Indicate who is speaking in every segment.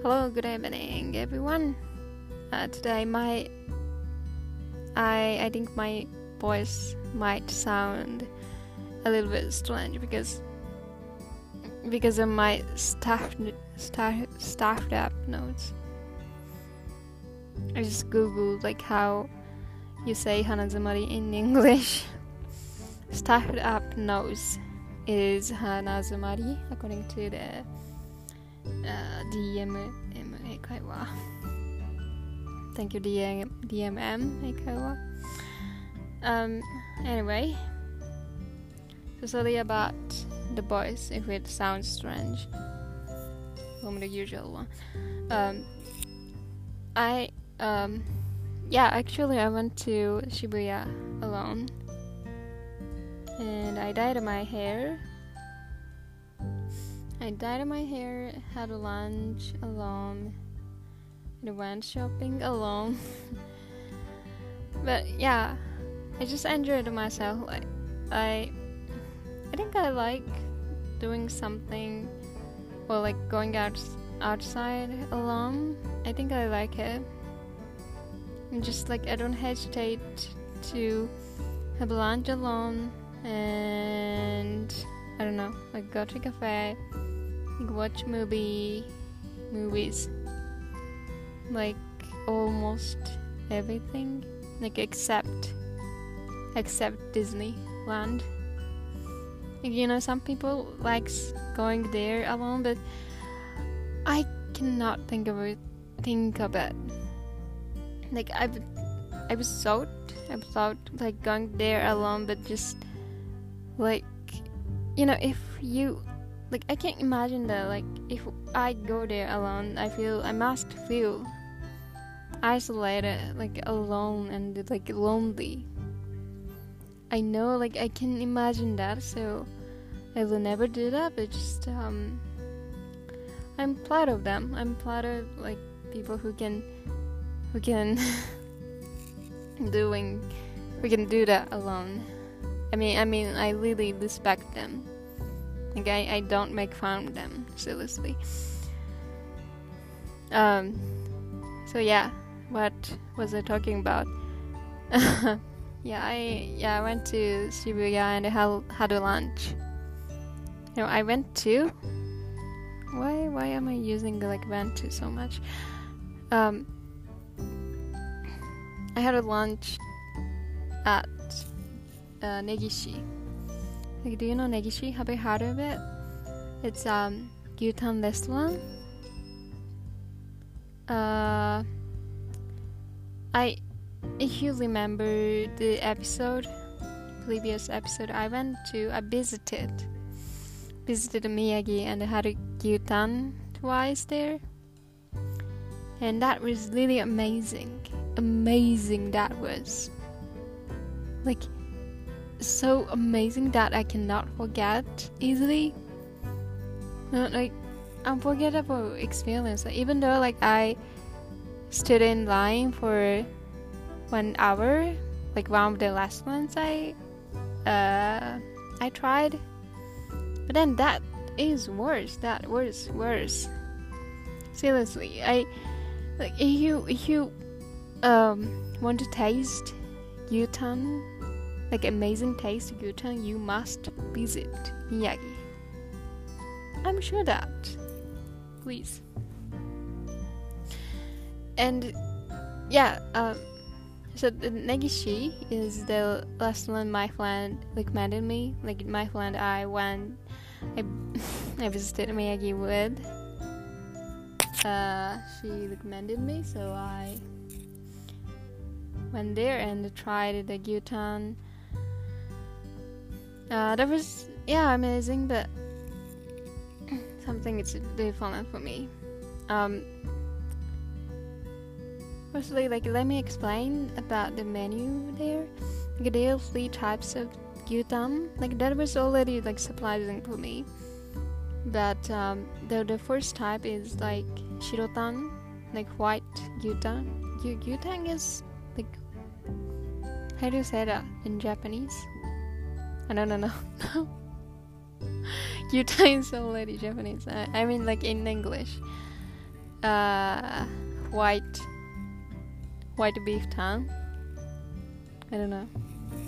Speaker 1: Hello, good evening, everyone. Today, I think my voice might sound a little bit strange because of my staffed up notes. I just googled like how you say hanazumari in English. Staffed up nose is hanazumari according to the DMM 英会話 Thank you DMM 英会話 Anyway, so sorry about the voice if it sounds strange from the usual one. Actually I went to Shibuya alone and I dyed my hair, had a lunch alone, and went shopping alone. But yeah, I just enjoyed myself. I think I like doing something, or like going outside alone. I think I like it. And just like I don't hesitate to have lunch alone, and I don't know, like go to a cafe, like watch movies, like almost everything, like except Disneyland. Like, you know, some people likes going there alone, but I cannot think of it. Like I was thought like going there alone, but just like, you know, if you like, I can't imagine that. Like if I go there alone, I must feel isolated, like alone and like lonely. I know, like I can imagine that, so I will never do that. But just I'm proud of them. I'm proud of like people who can do that alone. I mean I really respect them. Like I don't make fun of them, seriously. So yeah, what was I talking about? I went to Shibuya and I had a lunch. You know, I went to. Why am I using the like went to so much? I had a lunch at Negishi. Like, do you know Negishi? Have you heard of it? It's gyutan restaurant. If you remember the previous episode, I visited Miyagi and I had a gyutan twice there, and that was really amazing that was, like, so amazing that I cannot forget easily. Like, unforgettable experience. Like, even though like I stood in line for 1 hour, like one of the last ones I tried, but then that is worse. That was worse. Seriously, like if you want to taste gyutan, like amazing taste gyutan, you must visit Miyagi. I'm sure that. Please. And yeah, so the Negishi is the last one my friend recommended me. Like my friend I visited Miyagi with. She recommended me, so I went there and tried the gyutan. That was amazing, but something it's different for me. Firstly, like let me explain about the menu there. Like there are 3 types of gyutan. Like that was already like surprising for me. But the first type is like shirotan, like white gyutan. Gyutan is like, how do you say that in Japanese? I don't know. Gyutan is already Japanese. I mean like in English. white beef tongue. I don't know.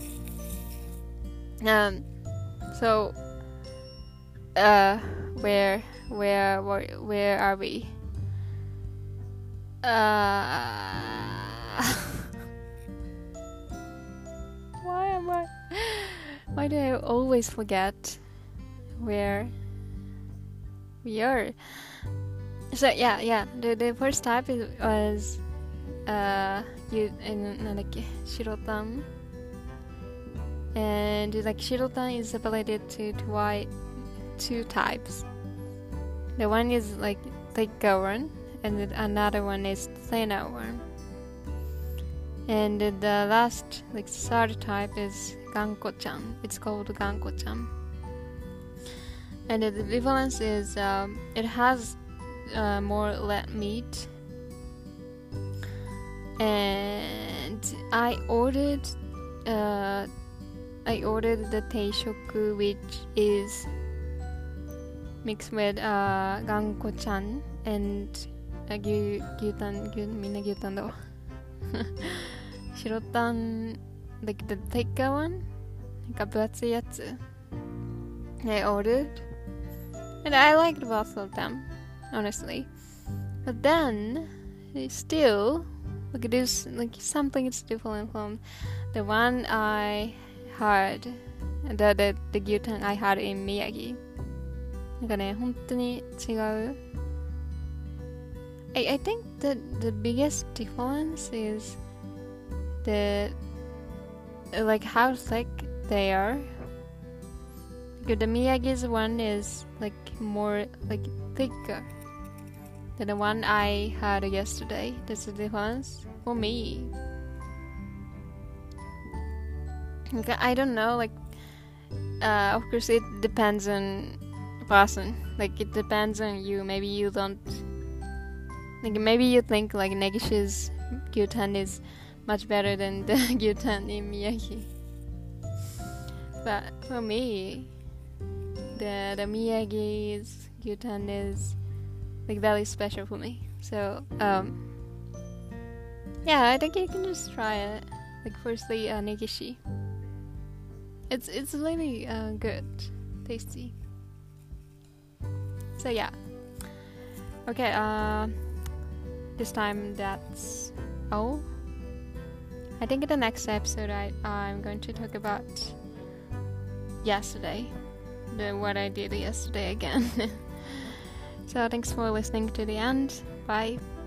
Speaker 1: So where are we? Why do I always forget where we are? So the first type was shirotan, and like shirotan is separated to two types. The one is like thicker one, and another one is thinner one. And the last, like third type is ganko-chan. It's called ganko-chan. And the difference is it has more red meat. And I ordered the teishoku, which is mixed with ganko-chan and gyutan, minna gyutan though. Shirotan, like the thicker one, like buatsui yatsu, I ordered, and I liked both of them, honestly. But then, still, like there's like something is different from the one I had, the gyutan I had in Miyagi. なんかね、本当に違う。I think that the biggest difference is like how thick they are. The Miyagi's one is like more like thicker than the one I had yesterday. That's the difference for me. Okay, I don't know, like of course it depends on person. Like it depends on you. Maybe you don't, like maybe you think like Negishi's gyutan is much better than the gyutan in Miyagi. But for me, the Miyagi's gyutan is like very special for me. So yeah, I think you can just try it. Like firstly, Negishi. It's really good, tasty. So yeah. Okay. This time that's all. I think in the next episode I'm going to talk about yesterday, what I did yesterday again. So thanks for listening to the end. Bye.